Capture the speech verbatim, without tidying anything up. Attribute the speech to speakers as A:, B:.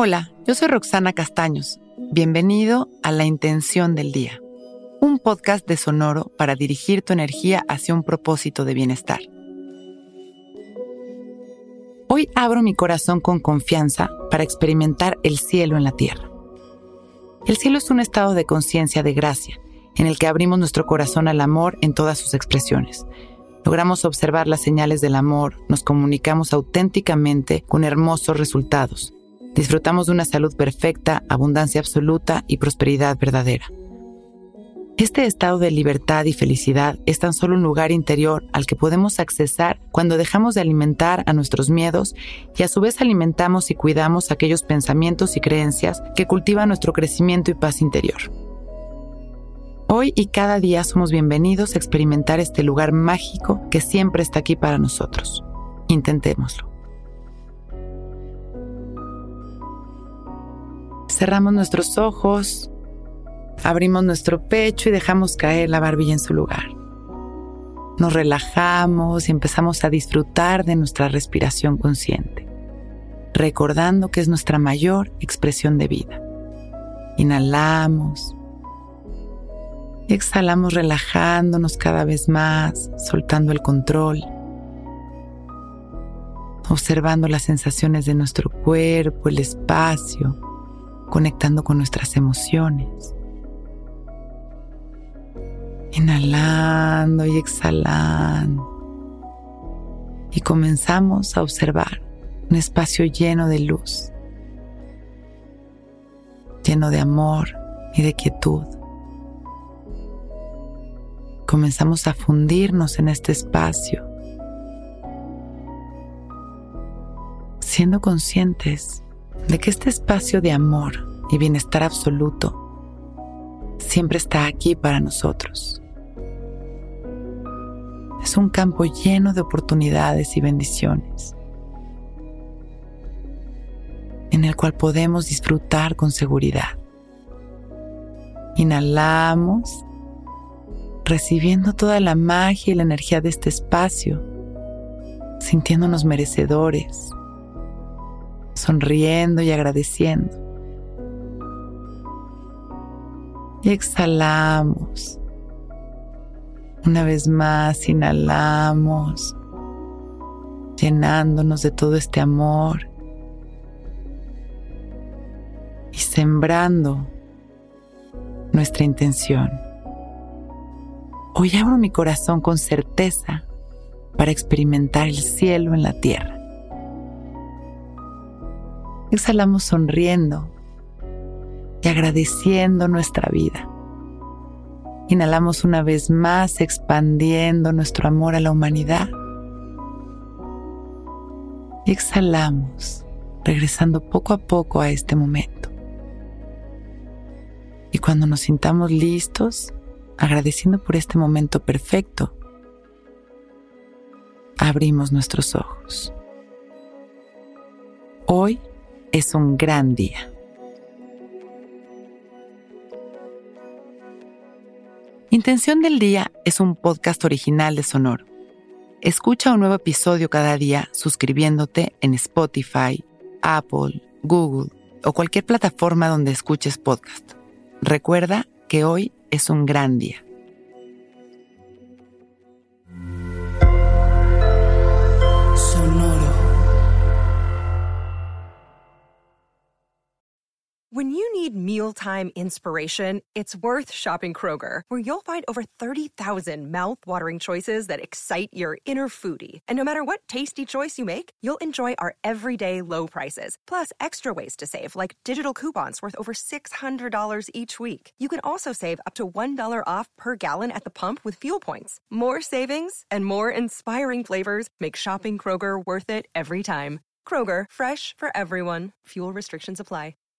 A: Hola, yo soy Roxana Castaños. Bienvenido a La Intención del Día, un podcast de Sonoro para dirigir tu energía hacia un propósito de bienestar. Hoy abro mi corazón con confianza para experimentar el cielo en la tierra. El cielo es un estado de conciencia de gracia, en el que abrimos nuestro corazón al amor en todas sus expresiones. Logramos observar las señales del amor, nos comunicamos auténticamente con hermosos resultados. Disfrutamos de una salud perfecta, abundancia absoluta y prosperidad verdadera. Este estado de libertad y felicidad es tan solo un lugar interior al que podemos accesar cuando dejamos de alimentar a nuestros miedos y a su vez alimentamos y cuidamos aquellos pensamientos y creencias que cultivan nuestro crecimiento y paz interior. Hoy y cada día somos bienvenidos a experimentar este lugar mágico que siempre está aquí para nosotros. Intentémoslo. Cerramos nuestros ojos, abrimos nuestro pecho y dejamos caer la barbilla en su lugar. Nos relajamos y empezamos a disfrutar de nuestra respiración consciente, recordando que es nuestra mayor expresión de vida. Inhalamos. Exhalamos relajándonos cada vez más, soltando el control, observando las sensaciones de nuestro cuerpo, el espacio, conectando con nuestras emociones. Inhalando y exhalando. Y comenzamos a observar un espacio lleno de luz, lleno de amor y de quietud. Comenzamos a fundirnos en este espacio, siendo conscientes de que este espacio de amor y bienestar absoluto siempre está aquí para nosotros. Es un campo lleno de oportunidades y bendiciones, en el cual podemos disfrutar con seguridad. Inhalamos, recibiendo toda la magia y la energía de este espacio, sintiéndonos merecedores, sonriendo y agradeciendo. Y exhalamos. Una vez más inhalamos, llenándonos de todo este amor y sembrando nuestra intención. Hoy abro mi corazón con certeza para experimentar el cielo en la tierra. Exhalamos sonriendo y agradeciendo nuestra vida. Inhalamos una vez más expandiendo nuestro amor a la humanidad. Y exhalamos, regresando poco a poco a este momento. Y cuando nos sintamos listos, agradeciendo por este momento perfecto, abrimos nuestros ojos. Hoy es un gran día. Intención del Día es un podcast original de Sonoro. Escucha un nuevo episodio cada día suscribiéndote en Spotify, Apple, Google o cualquier plataforma donde escuches podcast. Recuerda que hoy es un gran día.
B: Sonoro.
C: When you need mealtime inspiration, it's worth shopping Kroger, where you'll find over thirty thousand mouth-watering choices that excite your inner foodie. And no matter what tasty choice you make, you'll enjoy our everyday low prices, plus extra ways to save, like digital coupons worth over six hundred dollars each week. You can also save up to one dollar off per gallon at the pump with fuel points. More savings and more inspiring flavors make shopping Kroger worth it every time. Kroger, fresh for everyone. Fuel restrictions apply.